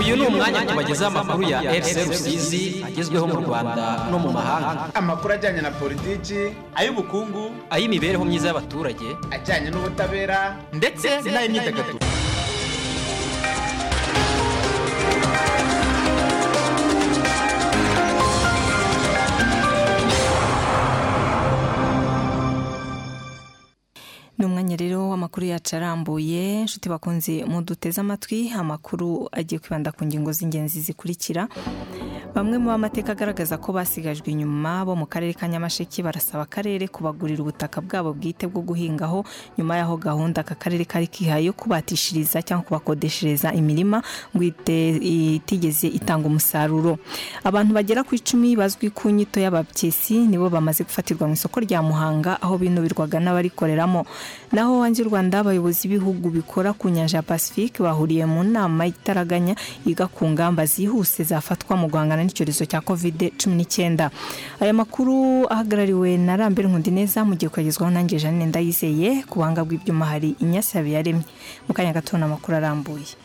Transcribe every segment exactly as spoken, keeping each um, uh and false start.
uyu ni umwanya tubagezaho amakuru ya R C Rusizi agezweho mu Rwanda no mu mahanga. Amakuru ajyanye na politiki, ay'ubukungu, ay'imibereho myiza y'abaturage, ajyanye n'ubutabera ndetse n'ay'imyidagaduro. Numwanya rero w'amakuru yacu arambuye, nshuti bakunze muduteze amatwi, amakuru agiye kwibanda ku ngingo z'ingenzi zikurikira. Bamwe mu bamateka agaragaza ko basigajwe inyuma bo mu karere ka Nyamasheke barasaba akarere kubagurira ubutaka bwabo bwite bwo guhingaho nyuma yaho gahunda aka karere kari kihaye kubatishiriza cyangwa kubakodeshereza imirima ngo itigeze itanga umusaruro. Abantu bagera ku icumi bazwi ku nyito y'ababyesi nibo bamaze gufatirwa mu isoko rya Muhanga aho binubirwaga n'abarikoreramo. Naho hanze y'u Rwanda abayobozi b'ibihugu bikora ku nyanja ya Pacifique bahuriye mu nama itaraganya yiga ku ngamba zihuse zafatwa mu guhangana n'icyorezo cya covid cumi n'icyenda. Aya makuru ahagarariwe na Rambere Nkundineza mu gihe kwagezwaho nanjye Jeanne Ndayizeye, ku buhanga bw'ibyuma hari Inyasi Habiyaremye. Mu kanya gato n'amakuru arambuye.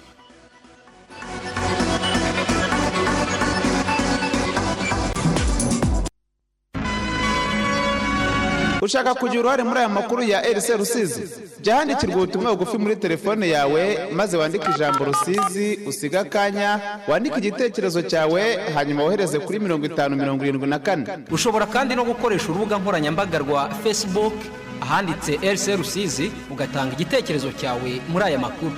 Ushaka kugira uruhare muri aya makuru ya R C Rusizi? Jya handikirwa ubutumwa bugufi muri telefone yawe maze wandike ijambo Rusizi, usiga akanya, wandike igitekerezo cyawe hanyuma wohereze kuri mirongo itanu mirongo irindwi na kane. Ushobora kandi no gukoresha urubuga nkoranyambaga rwa Facebook ahanditse R C Rusizi ugatanga igitekerezo cyawe muri aya makuru.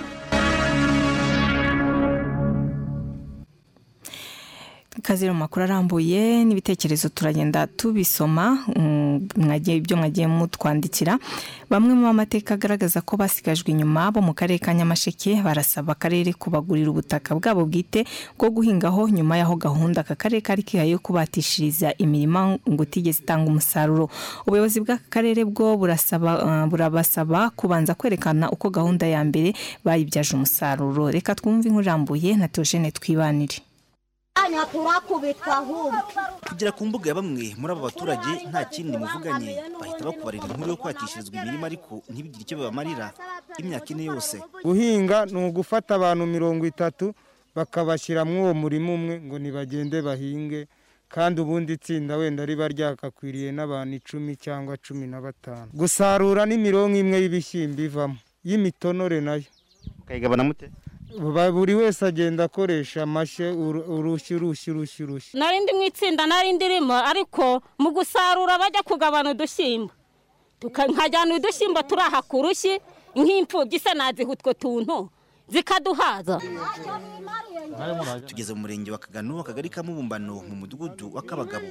Kaziro makuru arambuye n'ibitekerezo turagenda tubisoma mwagiye ibyo mwagiye mutwandikira. Bamwe mu bamateka agaragaza ko basigajwe inyuma bo mu karere ka Nyamasheke barasaba akarere kubagurira ubutaka bwabo bwite bwo guhingaho nyuma yaho gahunda aka karere kari kihaye kubatishiriza imirima ngo tigeze itanga umusaruro. Ubuyobozi bw'aka karere bwo burasaba uh, burabasaba kubanza kwerekana uko gahunda ya mbere bayibyaje umusaruro. Reka twumve inkurambuye na Theogene Twibanire. Anya turakubitwa ahubwo kugera ku mbuga ya bamwe muri aba baturage nta kindi muvuganye bahita bakubarira inkuru yo kwatishirizwa imirima ariko ntibigire icyo bamarira imyaka ine yose. Guhinga ni ugufata abantu mirongo itatu bakabashyira mu uwo murima umwe ngo nibagende bahinge, kandi ubundi itsinda wenda riba ryakakwiriye n'abantu icumi cyangwa cumi na batanu. Gusarura ni mirongo imwe y'ibishyimbo ivamo y'imitonore nayo kayigabana mute? Buri wese agenda akoresha amashe urushyi urushyi urushyi urushyi. Narindi mu itsinda narindi rimo ariko mu gusarura bajya kugabana udushyimbo tukankajyana udushyimbo turaha ku rushyi nk'imfubyi se nazihutwe tuntu zikaduhaza. Tugeze mu murenge wa Kagano akagari ka Mubumbano mu mudugudu wa Kabagabo.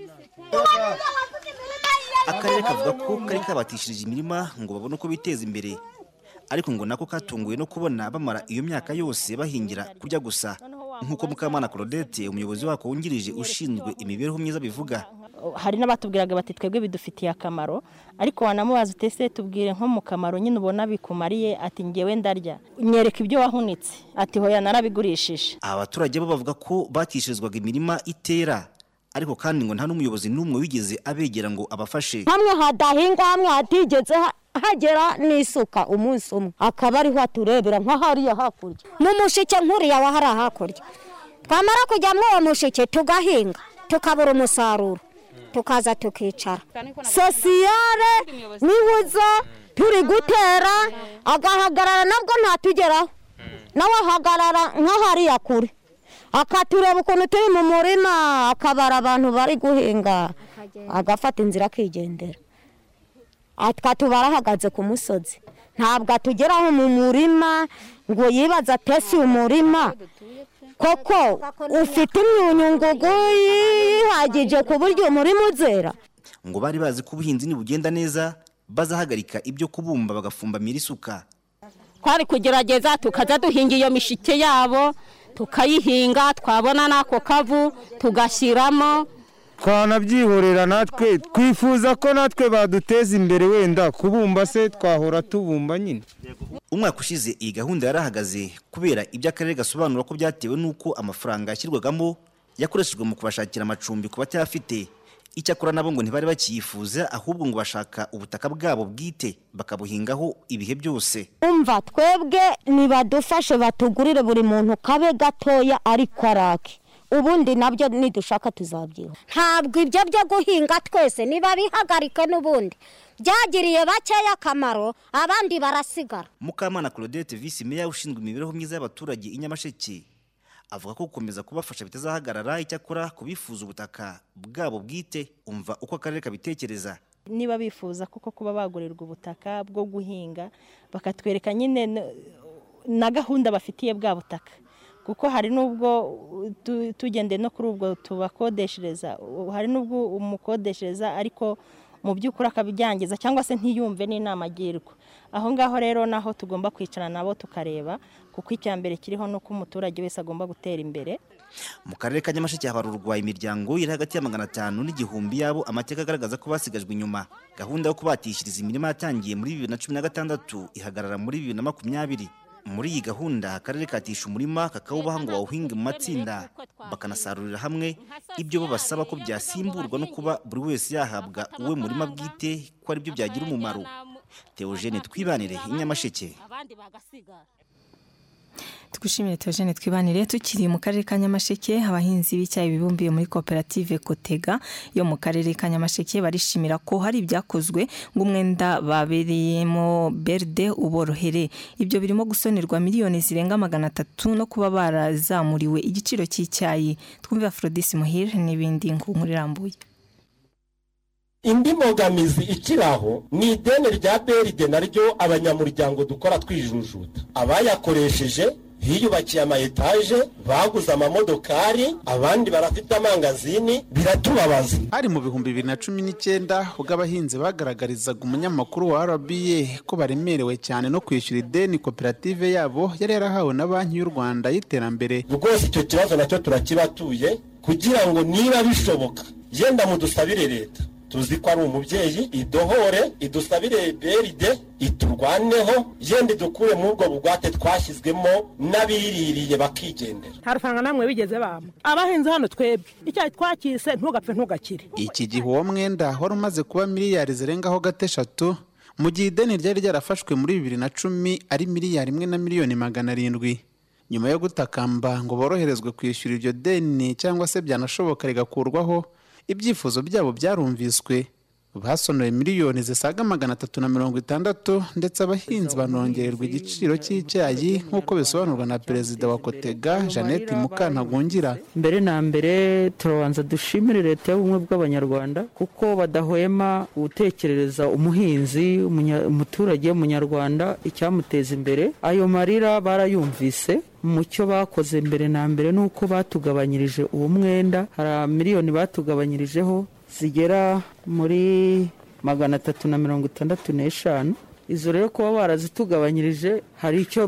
Akarere kavuga ko kari kabatishirije imirima ngo babone uko biteza imbere, ariko ngo nako katunguye no kubona bamara iyo myaka yose bahingira kurya gusa nkuko Mukamana Claudette umuyobozi wako wungirije ushinzwe imibereho myiza bivuga. Hari n'abatubwiraga bati twebwe bidufitiye akamaro, ariko wanamubaza utese tubwire nko mu kamaro nyine ubona bikumariye, ati ngewe ndarya nyereka ibyo wahunitse, ati hoya narabigurishije. Abaturage bo bavuga ko batishirizwaga imirima itera, ariko kandi ngo nta n'umuyobozi n'umwe wigeze abegera ngo abafashe. Hamwe hadahinga hamwe hatigeze hagera n'isuka umunsi umwe akaba ariho aturebera nka hariya hakurya n'umushike nkuriya wa hari hakurya. Twamara kujya mu uwo mushike tugahinga tukabura umusaruro tukaza tukicara sosiyare nibuza turi gutera agahagarara nabwo ntatugeraho nawe ahagarara nka hariya kure akatureba ukuntu turi mu murima akabara abantu bari guhinga agafata inzira akigendera. Atwatubara hagaze ku musozi ntabwo atugeraho mu murima ngo yibaza tesi umurima koko ufite imyunyungugu yihagije ku buryo umurima uzera. Ngo bari bazi ko ubuhinzi nibugenda neza bazahagarika ibyo kubumba bagafumbamira isuka. Kwari kugerageza tukaza duhinga iyo mishike yabo tukayihinga, twabona nako kavu tugashyiramo. Twanabyihorera natwe twifuza ko natwe baduteza imbere, wenda kubumba se twahora tubumba nyine. Umwaka ushize iyi gahunda yarahagaze kubera ibyo akarere gasobanura ko byatewe nuko amafaranga yashyirwagamo yakoreshejwe mu kubashakira amacumbi ku batayafite. Icyakora nabo ngo ntibari bakiyifuza ahubwo ngo bashaka ubutaka bwabo bwite bakabuhingaho ibihe byose. Umva twebwe nibadufashe batugurire buri muntu kabe gatoya ariko arake. Ubundi nabyo nidushaka tuzabyiho. Ntabwo ibyo byo guhinga twese niba bihagarike n'ubundi. Byagiriye bakeya akamaro abandi barasigara. Mukamana Claudette Vice Meya ushinzwe imibereho myiza y'abaturage i Nyamasheke avuga ko gukomeza kubafasha bitazahagarara icyakora kubifuza ubutaka bwabo bwite. Umva uko akarere kabitekereza. Niba bifuza kuko kuba bagurirwa ubutaka bwo guhinga bakatwereka nyine na gahunda bafitiye bwa butaka, kuko hari nubwo tugende no kuri ubwo tubakodeshereza, hari nubwo umukodeshereza ariko mu by'ukuri akabijyangiza cyangwa se ntiyumve n'inama agirwa. Aho ngaho rero naho tugomba kwicarana nabo tukareba, kuko icyambere kiriho no ko umuturage wese agomba gutera imbere. Mu karere ka Nyamasheke habarurwa imiryango iri hagati ya magana atanu n'igihumbi yabo amateka agaragaza ko basigajwe inyuma. Gahunda yo kubatishiriza imirima yatangiye muri bibiri na cumi na gatandatu ihagarara muri bibiri na makumyabiri. Muri iyi gahunda akarere katisha umurima kakawubaha ngo bawuhinge mu matsinda bakanasarurira hamwe. Ibyo bo basaba ko byasimburwa no kuba buri wese yahabwa uwe murima bwite ko ari byo byagira umumaro. Theogene Twibanire i Nyamasheke. Tugushimire Theogene Twibanire. Tukiri mu karere ka Nyamasheke, abahinzi b'icyayi bibumbiye muri koperative Kotega yo mu karere ka Nyamasheke barishimira ko hari ibyakozwe ngo umwenda babereyemo berde uborohere. Ibyo birimo gusonerwa miliyoni zirenga magana atatu no kuba barazamuriwe igiciro cy'icyayi. Twumve Aphrodis Muhire n'ibindi nkuru irambuye. Indi mbogamizi ikiraho ni ideni rya beride naryo abanyamuryango dukora twijujuta. Abayakoresheje hiyubakiye ama etaje, baguze amamodokari, abandi barafite amangazini, biratubabaza. Hari mu bihumbi bibiri na cumi n'icyenda ubwo abahinzi bagaragarizaga umunyamakuru wa R B A ko baremerewe cyane no kwishyura ideni koperative yabo yari yarahawe na Banki y'u Rwanda y'iterambere. Rwose icyo kibazo nacyo turakibatuye kugira ngo niba bishoboka yenda mudusabire leta. Tuzi ko ari umubyeyi idohore idusabire beride iturwaneho yende dukure mu bwo bugwate twashyizwemo n'abiririye bakigendera. Harufanga namwe bigeze bamwe abahinzi hano twebwe icyayi twakise ntugapfe ntugakire. Iki gihe uwo mwenda wari umaze kuba miliyari zirengaho gateshatu mu gihe ideni ryari ryarafashwe muri bibiri na cumi ari miliyari imwe na miliyoni magana arindwi. Nyuma yo gutakamba ngo boroherezwe kwishyura iryo deni cyangwa se byanashoboka rigakurwaho, ibyifuzo byabo byarumviswe. Basonoye miliyoni zisaga magana atatu na mirongo itandatu ndetse abahinzi banongererwa igiciro cy'icyayi nk'uko bisobanurwa na perezida wa Kotega Jeannette Mukantagungira. Mbere na mbere turabanza dushimire leta y'ubumwe bw'abanyarwanda kuko badahwema gutekerereza umuhinzi umuturage w'umunyarwanda icyamuteza imbere. Ayo marira barayumvise. Mucyo bakoze mbere na mbere nuko batugabanyirije uwo mwenda, hari miliyoni batugabanyirijeho zigera muri magana atatu na mirongo itandatu n'eshanu. Izo rero kuba barazitugabanyirije hari icyo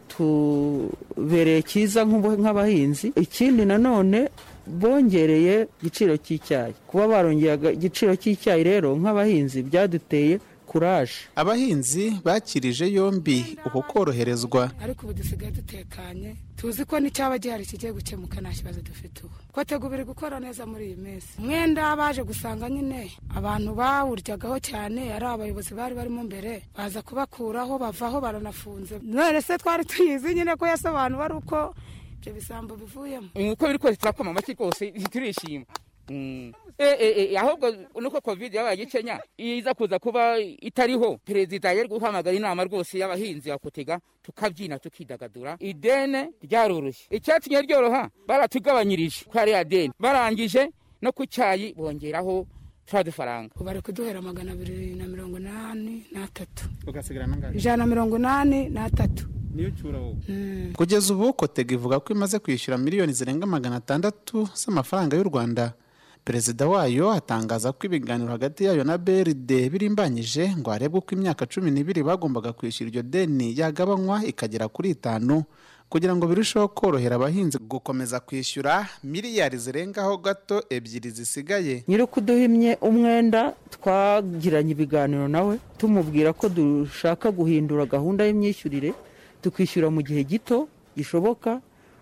byatubereye cyiza nk'abahinzi. Ikindi nanone bongereye igiciro cy'icyayi. Kuba barongera igiciro cy'icyayi rero nk'abahinzi byaduteye kuraje. Abahinzi bakirije yombi uko koroherezwa. Ariko ubu dusigaye dutekanye, tuzi ko n'icyaba gihari kigiye gukemuka nta kibazo dufite ubu. Kotega biri gukora neza muri iyi minsi. Mwenda baje gusanga nyine abantu bawuryagaho cyane ari abayobozi bari barimo mbere baza kubakuraho bavaho baranafunze. None se twari tuyizi nyine ko yasobanura ari uko ibyo bisambo bivuyemo. Uko biri ko turakoma amaki kose turishima. Mm. Eh eh ahubwo nuko covid yabaye Kenya iza kuza kuba itariho, perezida yari guhamagara inama rwose y'abahinzi ya Kotega tukabyina tukidagadura. Idene ryarurushye, icyatinye ryoroha baratugabanyirije kwari ya deni, barangije no ku cyayi bongeraho twadufaranga. Bari kuduhera magana abiri na mirongo inani n'atatu ugasigara nangahe ijana na mirongo inani n'atatu. Niyo cyura wowe. Mm. Kugeza ubu Kotega ivuga ko imaze kwishyura miliyoni zirenga magana atandatu z'amafaranga y'u Rwanda. Perezida wayo atangaza ko ibiganiro hagati yayo na B R D birimbanyije ngo harebwe uko imyaka cumi n'ibiri bagombaga kwishyura iryo deni yagabanywa ikagera kuri itanu kugira ngo birusheho korohera abahinzi gukomeza kwishyura miliyari zirengaho gato ebyiri zisigaye. Nyirukuduhimye umwenda twagiranye ibiganiro nawe tumubwira ko dushaka guhindura gahunda y'imyishyurire tukishyura mu gihe gito gishoboka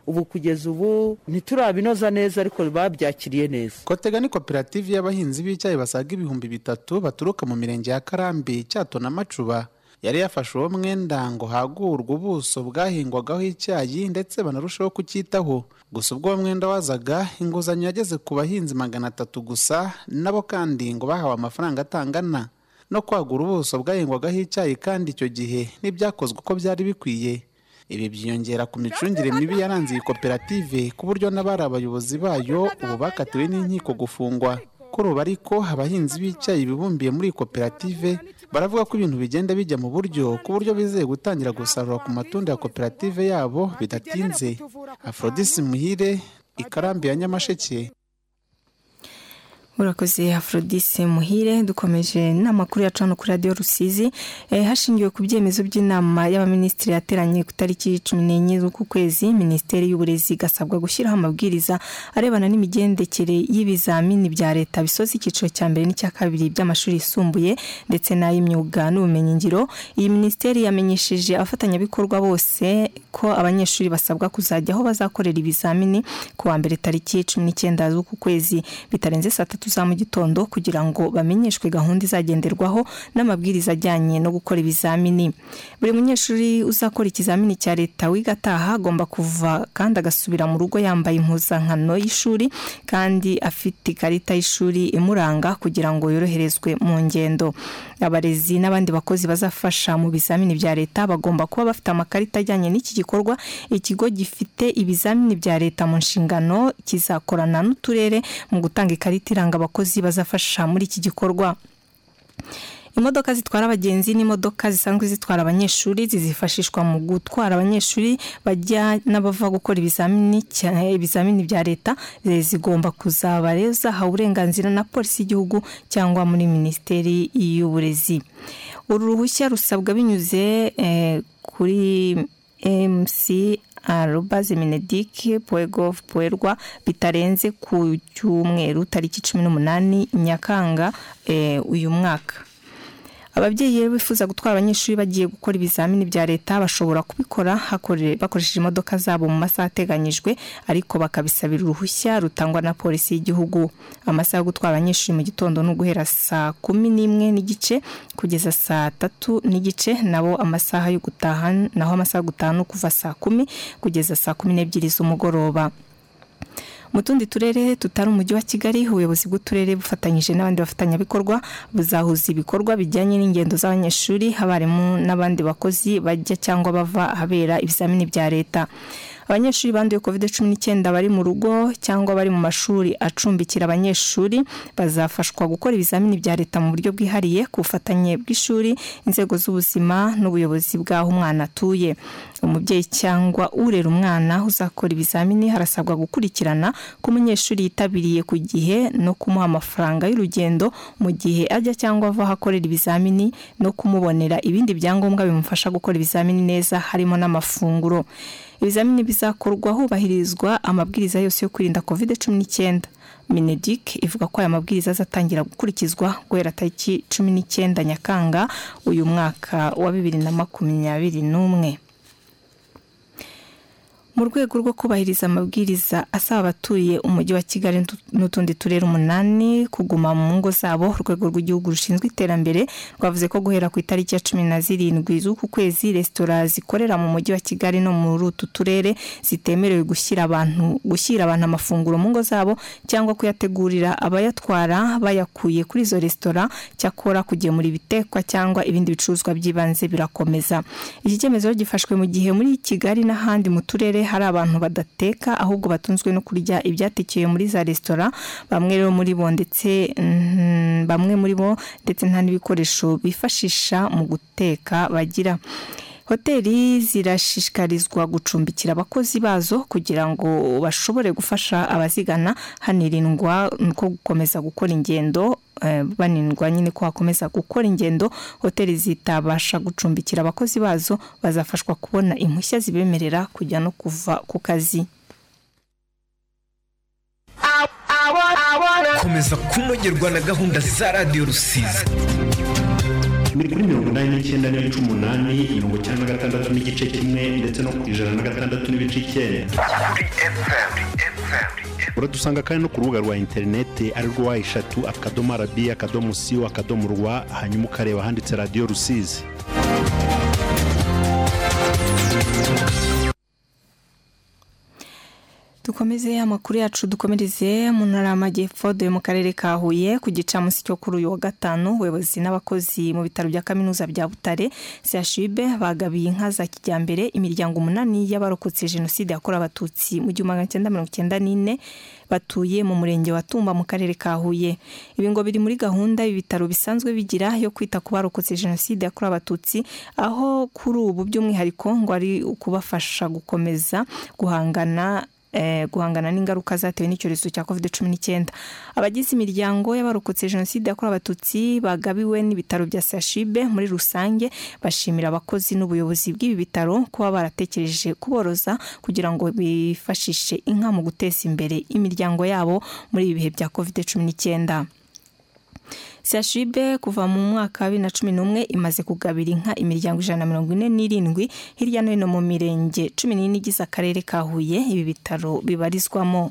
ubu kugeza ubu ntiturabinoza neza ariko babyakiriye neza. Kotega ni koperative y'abahinzi b'icyayi basaga ibihumbi bitatu baturuka mu mirenge ya Karambi, Cyato na Macuba. Yari yafashe uwo mwenda ngo hagurwe ubuso bwahingwagaho icyayi ndetse banarushaho kucyitaho. Gusa ubwo uwo mwenda wazaga, inguzanyo yageze ku bahinzi magana atatu gusa, nabo kandi ngo bahawe amafaranga atangana. No kwagura ubuso bwahingwagaho icyayi kandi icyo gihe n'ibyakozwe uko byari bikwiye. Ibi byiyongera ku micungire mibi yaranze iyi koperative ku buryo n'abari abayobozi bayo ubu bakatiwe n'inkiko gufungwa. Kuri ubu ariko abahinzi b'icyayi bibumbiye muri iyi koperative baravuga ko ibintu bigenda bijya mu buryo ku buryo bizeye gutangira gusarura ku matunda ya koperative yabo bidatinze. Aphrodis Muhire, Ikarambi ya Nyamasheke. Urakoze Aphrodis Muhire. Dukomeje n'amakuru yacu hano kuri Radio Rusizi. E, hashingiwe ku byemezo by'inama y'abaminisitiri yateranye ku tariki cumi n'enye z'uku kwezi, Minisiteri y'Uburezi gasabwa gushyiraho amabwiriza arebana n'imigendekere y'ibizamini bya leta bisoza icyiciro cya mbere n'icya kabiri by'amashuri yisumbuye ndetse n'ay'imyuga n'ubumenyingiro. Iyi minisiteri yamenyesheje abafatanyabikorwa bose ko abanyeshuri basabwa kuzajya aho bazakorera ibizamini ku wa mbere tariki cumi n'icyenda z'uku kwezi bitarenze saa tatu za mu gitondo kugira ngo bamenyeshwe gahunda izagenderwaho n'amabwiriza ajyanye no gukora ibizamini. Buri munyeshuri uzakora ikizamini cya leta wigataha agomba kuva kandi agasubira mu rugo yambaye impuzankano y'ishuri kandi afite ikarita y'ishuri imuranga kugira ngo yoroherezwe mu ngendo. Abarezi n'abandi bakozi bazafasha mu bizamini bya leta bagomba kuba bafite amakarita ajyanye n'iki gikorwa. Ikigo gifite ibizamini bya leta mu nshingano kizakorana n'uturere mu gutanga ikarita iranga abakozi bazafasha muri iki gikorwa. Imodoka zitwara abagenzi n'imodoka zisanzwe zitwara abanyeshuri zizifashishwa mu gutwara abanyeshuri bajya n'abava gukora ibizamini cyane ibizamini bya leta zigomba kuzabareza ha uburenganzira na polisi y'igihugu cyangwa muri Minisiteri y'Uburezi. Uru ruhushya rusabwa binyuze eh, kuri M C arobaze minedik point gov point rw bitarenze ku cyumweru tariki cumi n'umunani Nyakanga eh, uyu mwaka. Ababyeyi bifuza gutwara abanyeshuri bagiye gukora ibizamini bya leta bashobora kubikora bakoresheje imodoka zabo mu masaha ateganyijwe ariko bakabisabira uruhushya rutangwa na polisi y'igihugu. Amasaha yo gutwara abanyeshuri mu gitondo no guhera saa kumi n'imwe n'igice kugeza saa tatu n'igice, nabo amasaha yo gutaha naho amasaha yo gutaha no kuva saa kumi kugeza saa kumi n'ebyiri z'umugoroba. Mu tundi turere tutari umujyi wa Kigali, ubuyobozi bw'uturere bufatanyije n'abandi bafatanyabikorwa buzahuza ibikorwa bijyanye n'ingendo z'abanyeshuri, abarimu n'abandi bakozi bajya cyangwa bava habera ibizamini bya leta. Abanyeshuri banduye covid cumi n'icyenda bari mu rugo cyangwa bari mu mashuri acumbikira abanyeshuri bazafashwa gukora ibizamini bya leta mu buryo bwihariye ku bufatanye bw'ishuri, inzego z'ubuzima n'ubuyobozi bw'aho umwana atuye. Umubyeyi cyangwa urera umwana uzakora ibizamini harasabwa gukurikirana ko umunyeshuri yitabiriye ku gihe no kumuha amafaranga y'urugendo mu gihe ajya cyangwa ava ahakorera ibizamini no kumubonera ibindi byangombwa bimufasha gukora ibizamini neza harimo n'amafunguro. Ibizamini bizakorwa hubahirizwa amabwiriza yose yo kwirinda covid cumi n'icyenda. Minedik ivuga ko aya mabwiriza azatangira gukurikizwa guhera tariki cumi n'icyenda Nyakanga uyu mwaka wa bibiri na makumyabiri n'umwe. Mu rwego rwo kubahiriza amabwiriza asaba abatuye umujyi wa Kigali n'utundi turere umunani kuguma mu ngo zabo, urwego rw'igihugu rushinzwe iterambere rwavuze ko guhera ku itariki ya cumi na zirindwi z'uku kwezi resitora zikorera mu mujyi wa Kigali no muri utu turere zitemerewe gushyira abantu gushyira abantu amafunguro mu ngo zabo cyangwa kuyategurira abayatwara bayakuye kuri izo resitora, cyakora kugemura ibitekwa cyangwa ibindi bicuruzwa by'ibanze birakomeza. Iki cyemezo gifashwe mu gihe muri Kigali n'ahandi mu turere hari abantu badateka ahubwo batunzwe no kurya ibyatekeye muri za resitora, bamwe rero muri bo ndetse mm, bamwe muri bo ndetse nta n'ibikoresho bifashisha mu guteka bagira. Hoteli zirashishikarizwa gucumbikira abakozi bazo kugira ngo bashobore gufasha abazigana, hanirindwa ko gukomeza gukora ingendo banindwa nyine ko hakomeza gukora ingendo. Hoteli zitabasha gucumbikira abakozi bazo bazafashwa kubona impushya zibemerera kujya no kuva ku kazi. Komeza kunogerwa na gahunda za Radio Rusizi. muri kuri mirongo inani n'icyenda n'ibice umunani, mirongo icyenda na gatandatu n'igice kimwe ndetse no ku ijana na gatandatu n'ibice icyenda. Uradusanga kandi no ku rubuga rwa interineti ari rwo wa eshatu akadomo arabi akadomo siyo akadomo rwa, hanyuma ukareba handitse radiyo Rusizi. Dukomeze amakuru yacu dukomereze mu ntara y'Amajyepfo do mu karere ka Huye ku gicamunsi cyo kuri uyu wa gatanu. Ubuyobozi n'abakozi mu bitaro bya kaminuza bya Butare C H U B bagabiye inka za kijyambere imiryango umunani y'abarokotse jenoside yakorewe abatutsi mu gihumbi magana cyenda mirongo icyenda n'ine batuye mu murenge wa Tumba mu karere ka Huye. Ibi ngo biri muri gahunda y'ibitaro bisanzwe bigira yo kwita ku barokotse jenoside yakorewe abatutsi, aho kuri ubu by'umwihariko ngo ari ukubafasha gukomeza guhangana Eh, guhangana n'ingaruka zatewe n'icyorezo cya covid cumi n'icyenda. Abagize imiryango y'abarokotse jenoside yakorewe abatutsi bagabiwe n'ibitaro bya C H U B muri rusange bashimira abakozi n'ubuyobozi bw'ibi bitaro kuba baratekereje kuboroza kugira ngo bifashishe inka mu guteza imbere imiryango yabo muri ibi bihe bya covid cumi n'icyenda. C H U B kuva mu mwaka wa bibiri na cumi n'umwe imaze kugabira inka imiryango ijana na mirongo ine n'irindwi hirya no hino mu mirenge cumi n'ine igize akarere ka Huye ibi bitaro bibarizwamo.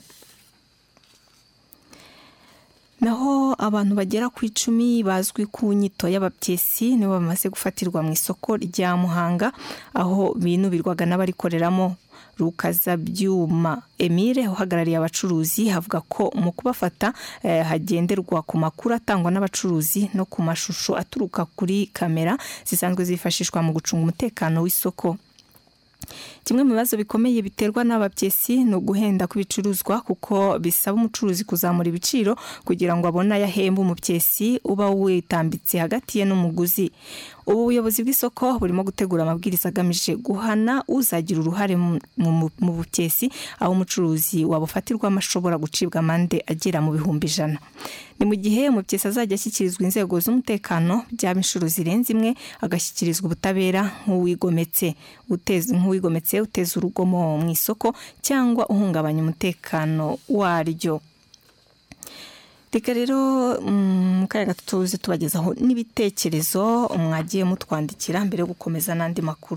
Naho abantu bagera ku icumi bazwi ku nyito y'abapyesi nibo bamaze gufatirwa mu isoko rya Muhanga aho binubirwaga n'abarikoreramo. Rukazabyuma Emile uhagarariye abacuruzi havuga ko mu kubafata eh, hagenderwa ku makuru atangwa n'abacuruzi no ku mashusho aturuka kuri kamera zisanzwe zifashishwa mu gucunga umutekano w'isoko. Kimwe mu bibazo bikomeye biterwa n'abapyesi no guhenda kubicuruzwa kuko bisaba umucuruzi kuzamura ibiciro kugira ngo abone yahemba umupyesi uba witambitse hagati ye n'umuguzi. Ubu buyobozi bw'isoko burimo gutegura amabwiriza agamije guhana uzagira uruhare mu bupyesi aho umucuruzi wabufatirwa amashobora gucibwa amande agera mu bihumbi ijana. Ni mu gihe umupyesi azajya ashyikirizwa inzego z'umutekano byaba inshuro zirenze imwe agashyikirizwa ubutabera nk'uwigometse uteza nk'uwigometse uteza urugomo mu isoko cyangwa uhungabanya umutekano waryo. Reka rero mu kanya gato tuze tubagezaho n'ibitekerezo mwagiye mutwandikira mbere yo gukomeza n'andi makuru.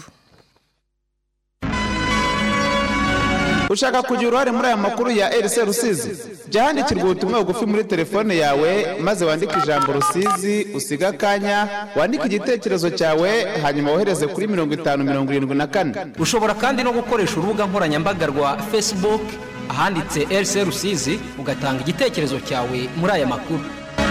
Ushaka kugira uruhare muri aya makuru ya R C Rusizi? Jya handikirwa ubutumwa bugufi muri telefone yawe maze wandike ijambo Rusizi usiga akanya wandike igitekerezo cyawe hanyuma wohereze kuri mirongo itanu mirongo irindwi na kane. Ushobora kandi no gukoresha urubuga nkoranyambaga rwa Facebook ahanditse R C Rusizi ugatanga igitekerezo cyawe muri aya makuru.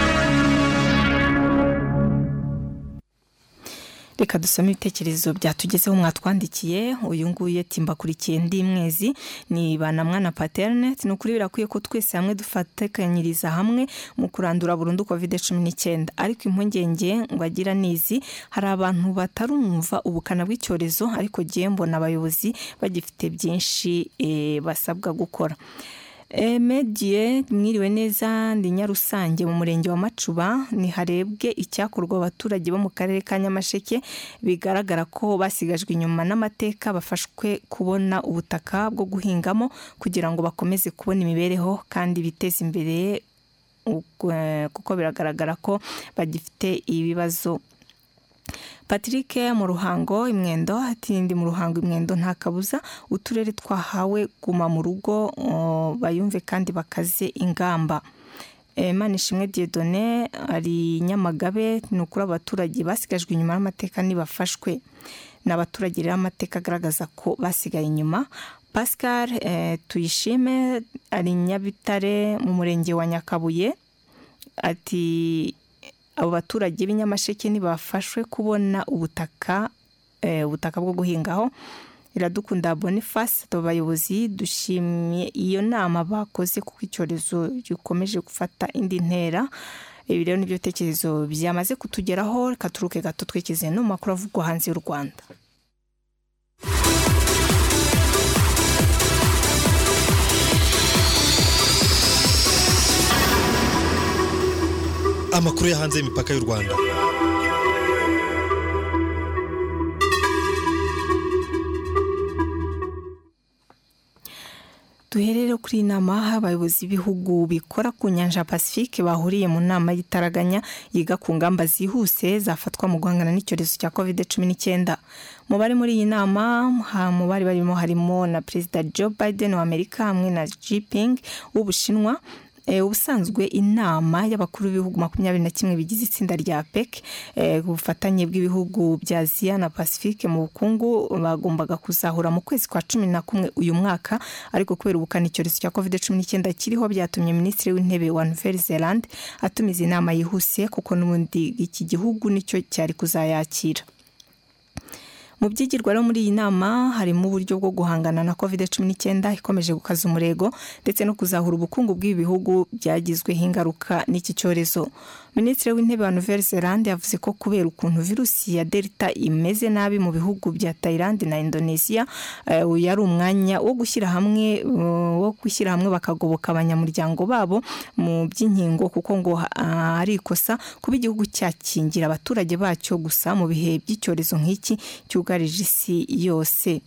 Reka dusome ibitekerezo byatugezeho mwatwandikiye. Uyu nguye timbakurikiye ndi mwezi ni banamwana paternity n'ukuri birakwiye ko twese hamwe dufatekanyiriza hamwe mu kurandura burundu covid cumi n'icyenda, ariko impungenge ngo agira nizi hari abantu batarumva ubukana bw'icyorezo ariko giye mbona abayobozi bagifite byinshi e, basabwa gukora. E, medie mwiriwe neza ndi Nyarusange mu murenge wa Macuba ni harebwe icyakorwa abaturage bo mu karere ka Nyamasheke bigaragara ko basigajwe inyuma n'amateka bafashwe kubona ubutaka bwo guhingamo kugira ngo bakomeze kubona imibereho kandi biteze imbere kuko biragaragara ko bagifite ibibazo. Patrick mu Ruhango Imwendo ati ndi mu Ruhango Imwendo nta kabuza uturere twahawe guma mu rugo bayumve kandi bakaze ingamba. Manishimwe Dieudonné ari Nyamagabe n'ukuri abaturage basigajwe inyuma y'amateka nibafashwe n'abaturage rero amateka agaragaza ko basigaye inyuma. Pascal eh, Tuyishime ari Nyabitare mu murenge wa Nyakabuye ati abo baturage b'inyamasheke nibafashwe kubona ubutaka eh, ubutaka bwo guhingaho. Iradukunda Boniface abayobozi dushimye iyo nama bakoze kuko icyorezo gikomeje gufata indi ntera. Ibi rero nibyo tekerezo byamaze kutugeraho. Reka turuke gato twekeze no makuru avugwa hanze y'u Rwanda. Amakuru ya hanze y'imipaka y'u Rwanda. duherere kuri inama abayobozi b'ibihugu bikora ku nyanja Pacifique bahuriye mu nama y'itaraganya yiga ku ngamba zihuse zafatwa mu guhangana n'icyorezo cya covid cumi n'icyenda. Mu bari muri iyi nama mu bari barimo harimo na Perezida Joe Biden wa Amerika hamwe na Xi Jinping w'Ubushinwa. E, ubusanzwe inama y'abakuru b'ibihugu makumyabiri na kimwe bigize itsinda rya A P E C e, ubufatanye bw'ibihugu bya Aziya na Pacifique mu bukungu bagombaga kuzahura mu kwezi kwa cumi na kumwe uyu mwaka, ariko kubera ubukana icyorezo cya covid cumi n'icyenda kiriho byatumye Minisitiri w'Intebe wa Nouvelle-Zélande atumiza inama yihuse kuko n'ubundi iki gihugu nicyo cyari kuzayakira. Mu byigirwa rero muri iyi nama harimo uburyo bwo guhangana na covid cumi n'icyenda ikomeje gukaza umurego ndetse no kuzahura ubukungu bw'ibihugu byagizweho ingaruka n'iki cyorezo. Minisitiri w'Intebe wa Nouvelle-Zélande yavuze ko kubera ukuntu virusi ya Delta imeze nabi mu bihugu bya Thailand na Indonesia, uh, yari umwanya wo gushyira hamwe uh, wo gushyira hamwe bakagoboka abanyamuryango babo mu by'inkingo, kuko ngo uh, ari ikosa kuba igihugu cyakingira abaturage bacyo gusa mu bihe by'icyorezo nk'iki cyugarije isi yose.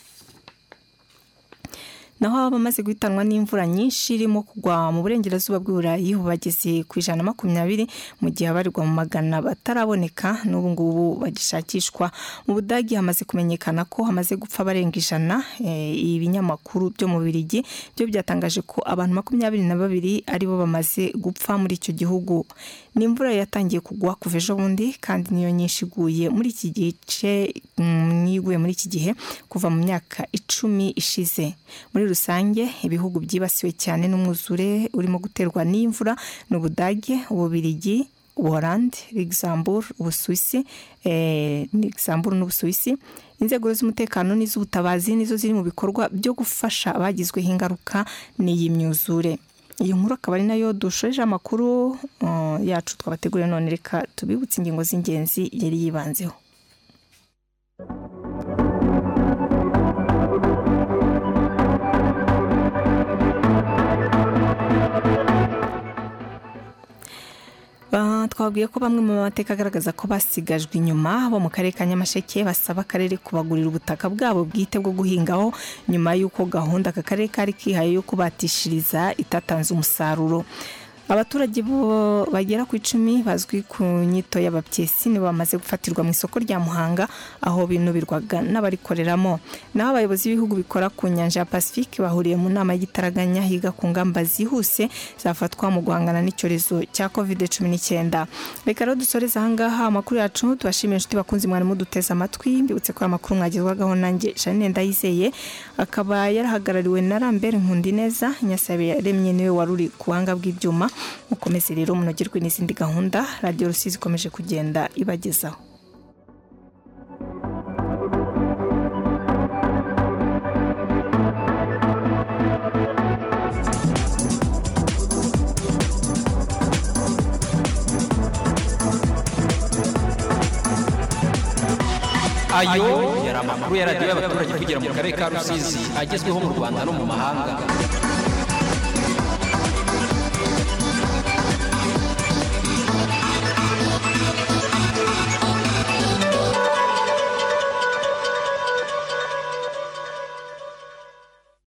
Naho abamaze guhitanwa n'imvura nyinshi irimo kugwa mu burengerazuba bw'Uburayi bageze ku ijana na makumyabiri mu gihe abarirwa mu magana bataraboneka n'ubu ngubu bagishakishwa. Mu Budagi hamaze kumenyekana ko hamaze gupfa barenga ijana. E, ibinyamakuru byo mu Bubiligi byo byatangaje ko abantu makumyabiri na babiri aribo bamaze gupfa muri icyo gihugu. Ni imvura yatangiye kugwa kuva ejo bundi kandi niyo nyinshi iguye muri iki gice niguye muri iki gihe kuva mu myaka icumi ishize. Muri rusange ibihugu byibasiwe cyane n'umwuzure urimo guterwa n'imvura n'Ubudage, Ububiligi, Ubuholandi, Luxembourg, Ubusuwisi, eh, Luxembourg n'Ubusuwisi. Inzego z'umutekano n'iz'ubutabazi nizo ziri mu bikorwa byo gufasha abagizweho ingaruka n'iyi myuzure. Iyi nkuru akaba ari nayo dushoje amakuru uh, yacu twabateguriye none, reka tubibutse ingingo z'ingenzi yari yibanzeho. Uh, twabwiye ko bamwe mu mateka agaragaza ko basigajwe inyuma bo mu karere ka Nyamasheke basaba akarere kubagurira ubutaka bwabo bwite bwo guhingaho nyuma y'uko gahunda aka karere kari kihaye yo kubatishiriza itatanze umusaruro. Abaturage bo bagera ku icumi bazwi ku nyito y'abapyesi nibo bamaze gufatirwa mu isoko rya Muhanga aho binubirwaga n'abarikoreramo. Naho abayobozi b'ibihugu bikora ku nyanja ya Pacifique bahuriye mu nama y'igitaraganya higa ku ngamba zihuse zafatwa mu guhangana n'icyorezo cya covid cumi n'icyenda. Reka rero dusoreza ahangaha amakuru yacu, tubashimiye inshuti bakunzi mwari muduteza amatwi. Mbibutse ko amakuru mwagezwagaho nanjye Janine Ndayizeye, akaba yarahagarariwe na Lambert Nkundineza. Nyasabe yaremye niwe waruri kuhanga bw'ibyuma. Mukomeze rero munogerwe n'izindi gahunda Radio Rusizi ikomeje kugenda ibagezaho. Ayo yari amakuru ya radio y'abaturage kugira mu karere ka Rusizi agezweho mu Rwanda no mu mahanga.